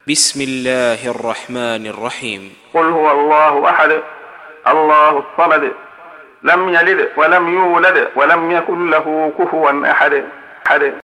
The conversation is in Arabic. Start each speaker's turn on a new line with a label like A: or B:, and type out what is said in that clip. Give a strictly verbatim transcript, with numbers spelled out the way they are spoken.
A: بسم الله الرحمن الرحيم.
B: قل هو الله أحد الله الصمد لم يلد ولم يولد ولم يكن له كفوا أحد.